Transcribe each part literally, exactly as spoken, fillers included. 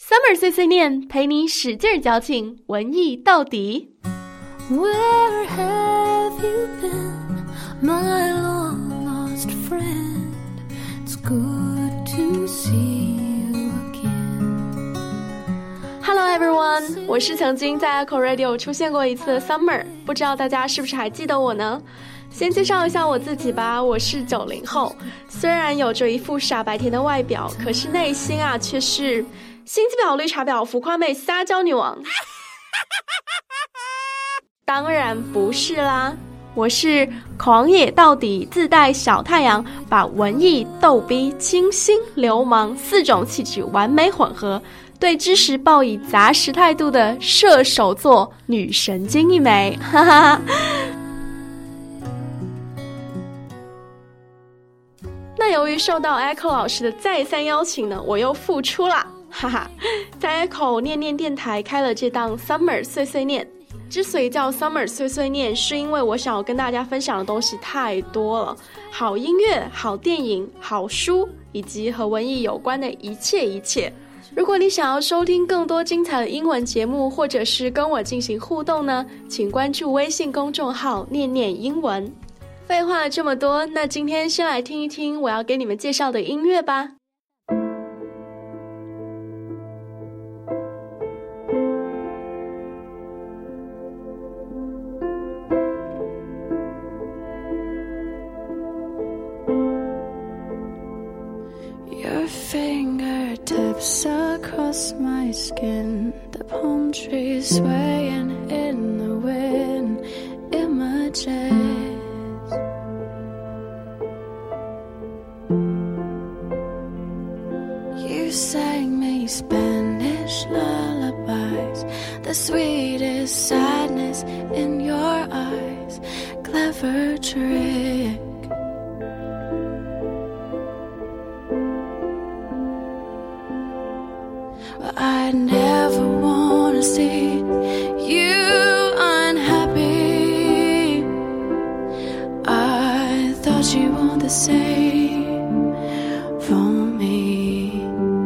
Summer 碎碎念，陪你使劲矫情，文艺到底。 Where have you been, my long lost friend? It's good to see you again. Hello everyone， 我是曾经在 Echo Radio 出现过一次的 Summer， 不知道大家是不是还记得我呢？先介绍一下我自己吧，我是九零后，虽然有着一副傻白甜的外表，可是内心啊却是心机婊、绿茶婊、浮夸妹、撒娇女王。当然不是啦，我是狂野到底，自带小太阳，把文艺、逗逼、清新、流氓四种气质完美混合，对知识抱以杂食态度的射手座女神经一枚，哈哈。那由于受到 Echo 老师的再三邀请呢，我又复出啦，哈哈，在 Echo 念念电台开了这档 Summer 碎碎念。之所以叫 Summer 碎碎念，是因为我想要跟大家分享的东西太多了，好音乐、好电影、好书，以及和文艺有关的一切一切。如果你想要收听更多精彩的英文节目，或者是跟我进行互动呢，请关注微信公众号念念英文。废话了这么多，那今天先来听一听我要给你们介绍的音乐吧。 Your fingertips across my skin, the palm trees swaying in the wind, images. You sang me Spanish lullabies, the sweetest sadness in your eyes, clever trick. I never wanna see you unhappy. I thought you were the same for me.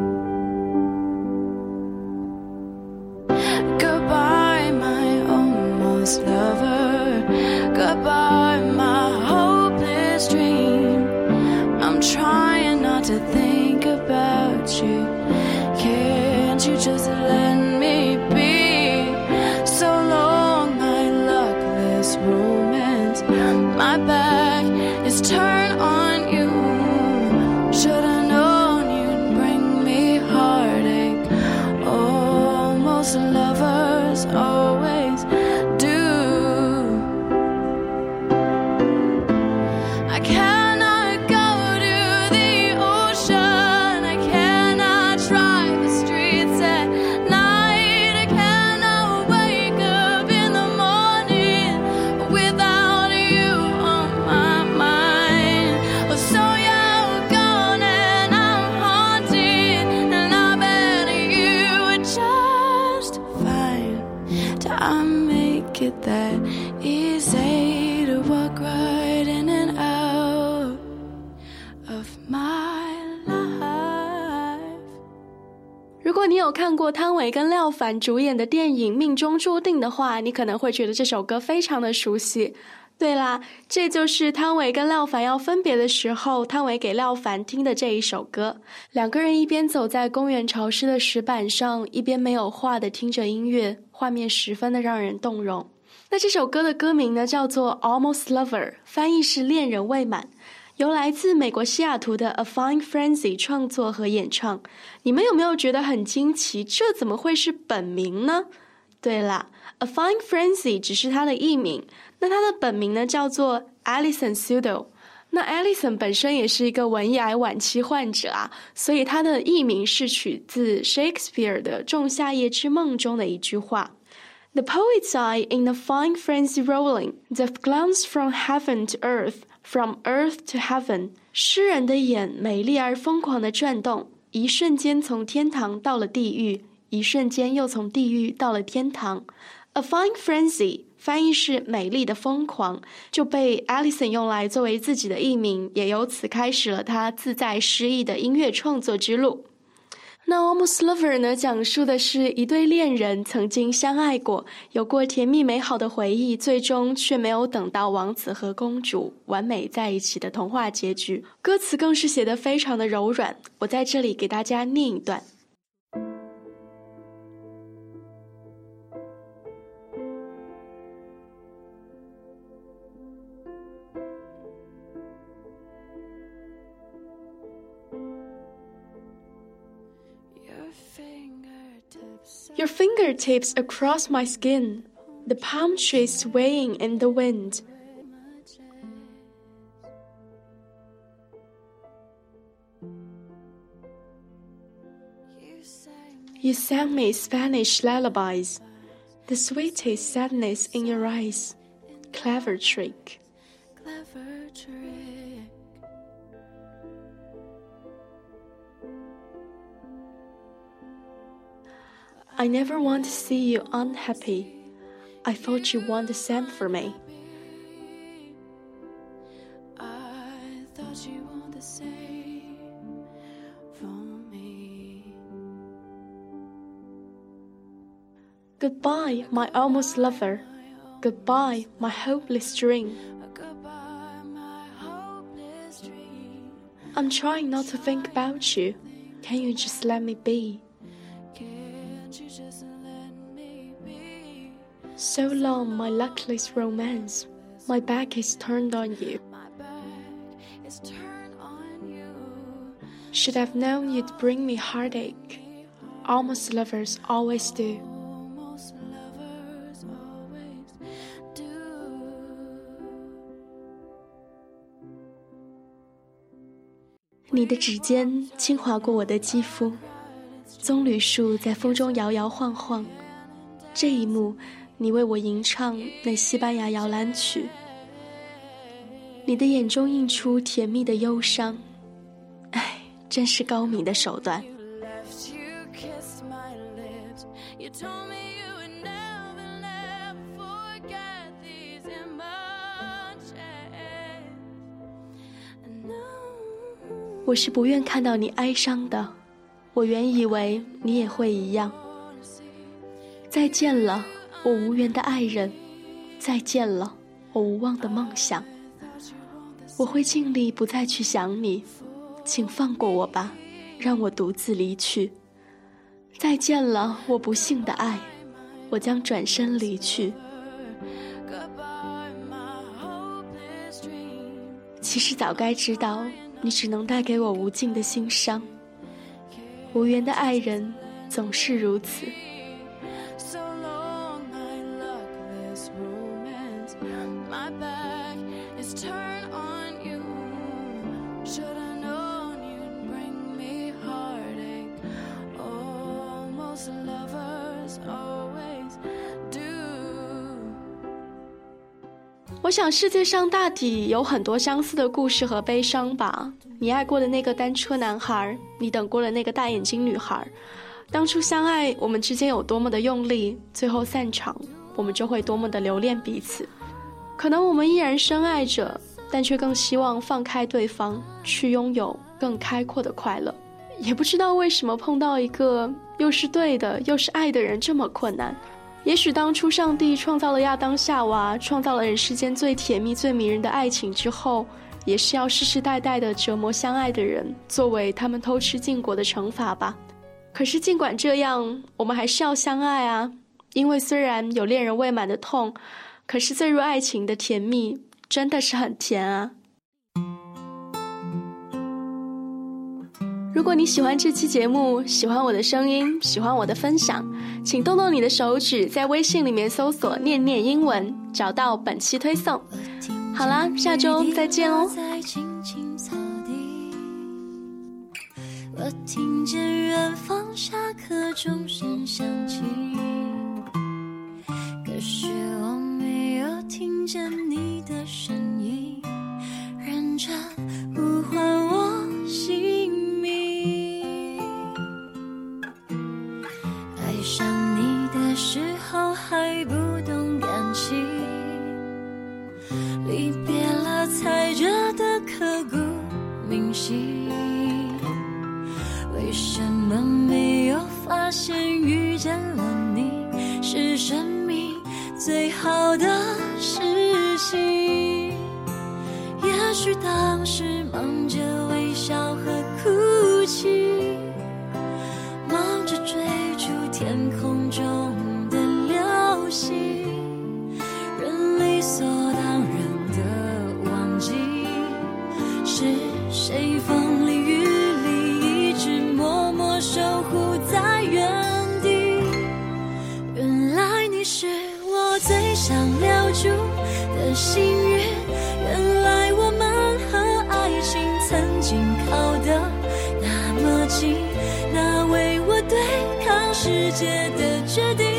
Goodbye, my almost lover. Goodbye, my hopeless dream. I'm trying not to think about you. Can't you just let me be? So long, my luckless romance. My back is turned on you. Should've known you'd bring me heartache. Almost lovers always do. I can't that easy to walk right in and out of my life. 如果你有看过汤唯跟廖凡主演的电影《命中注定》的话，你可能会觉得这首歌非常的熟悉。对啦，这就是汤唯跟廖凡要分别的时候，汤唯给廖凡听的这一首歌。两个人一边走在公园潮湿的石板上，一边没有话的听着音乐，画面十分的让人动容。那这首歌的歌名呢叫做 Almost Lover， 翻译是恋人未满，由来自美国西雅图的 A Fine Frenzy 创作和演唱。你们有没有觉得很惊奇，这怎么会是本名呢？对啦， A Fine Frenzy 只是他的艺名，那他的本名呢叫做 Alison Sudol。 那 Alison 本身也是一个文艺癌晚期患者啊，所以他的艺名是取自 Shakespeare 的《仲夏夜之梦》中的一句话。The poet's eye in a fine frenzy rolling, that glance from heaven to earth, from earth to heaven. 诗人的眼美丽而疯狂地转动，一瞬间从天堂到了地狱，一瞬间又从地狱到了天堂。A fine frenzy 翻译是美丽的疯狂，就被 Alison 用来作为自己的艺名，也由此开始了他自在诗意的音乐创作之路。 那 Almost Lover 呢，讲述的是一对恋人曾经相爱过，有过甜蜜美好的回忆，最终却没有等到王子和公主完美在一起的童话结局。歌词更是写得非常的柔软，我在这里给大家念一段。Your fingertips across my skin, the palm trees swaying in the wind. You sang me Spanish lullabies, the sweetest sadness in your eyes. Clever trick. Clever trick. I never want to see you unhappy. I thought you want the same for me. I thought you want the same for me. Goodbye, my almost lover. Goodbye, my hopeless dream. I'm trying not to think about you. Can you just let me be?So long, my luckless romance. My back is turned on you. Should have known you'd bring me heartache. Almost lovers always do. 你的指尖轻划过我的肌肤，棕榈树在风中摇摇晃晃。这一幕你为我吟唱那西班牙摇篮曲，你的眼中映出甜蜜的忧伤，唉，真是高明的手段。我是不愿看到你哀伤的，我原以为你也会一样。再见了，我无缘的爱人，再见了，我无望的梦想。我会尽力不再去想你，请放过我吧，让我独自离去。再见了，我不幸的爱，我将转身离去。其实早该知道，你只能带给我无尽的心伤。无缘的爱人总是如此。我想世界上大抵有很多相似的故事和悲伤吧。你爱过的那个单车男孩，你等过的那个大眼睛女孩，当初相爱，我们之间有多么的用力，最后散场，我们就会多么的留恋彼此。可能我们依然深爱着，但却更希望放开对方，去拥有更开阔的快乐。也不知道为什么碰到一个又是对的又是爱的人这么困难。也许当初上帝创造了亚当夏娃，创造了人世间最甜蜜最迷人的爱情之后，也是要世世代代的折磨相爱的人，作为他们偷吃禁果的惩罚吧。可是尽管这样，我们还是要相爱啊，因为虽然有恋人未满的痛，可是坠入爱情的甜蜜真的是很甜啊。如果你喜欢这期节目，喜欢我的声音，喜欢我的分享，请动动你的手指，在微信里面搜索念念英文，找到本期推送。好啦，下周再见哦。我听见远方下课钟声响起，可是我没有听见你的声音，认真呼唤我姓名。爱上你的时候还不懂感情，离别了才觉得刻骨铭心。为什么没有发现遇见了你是生命最好的事情？也许当时忙着微笑和哭泣，忙着追逐天空中的流星，人理所当然的忘记是谁风里雨里一直默默守护在原地。原来你是我最想留住的幸运，原来我们和爱情曾经靠得那么近，那为我对抗世界的决定